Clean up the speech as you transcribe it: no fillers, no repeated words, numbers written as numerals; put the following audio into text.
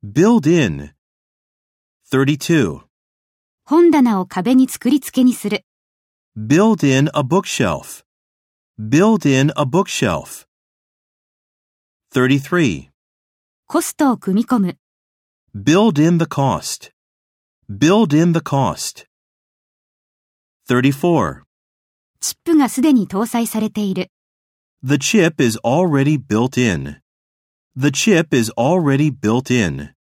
Build in. 32. 本棚を壁に作り付けにする。 Build in a bookshelf. Build in a bookshelf. 33. コストを組み込む。 Build in the cost. Build in the cost. 34. チップがすでに搭載されている。 The chip is already built in. The chip is already built in.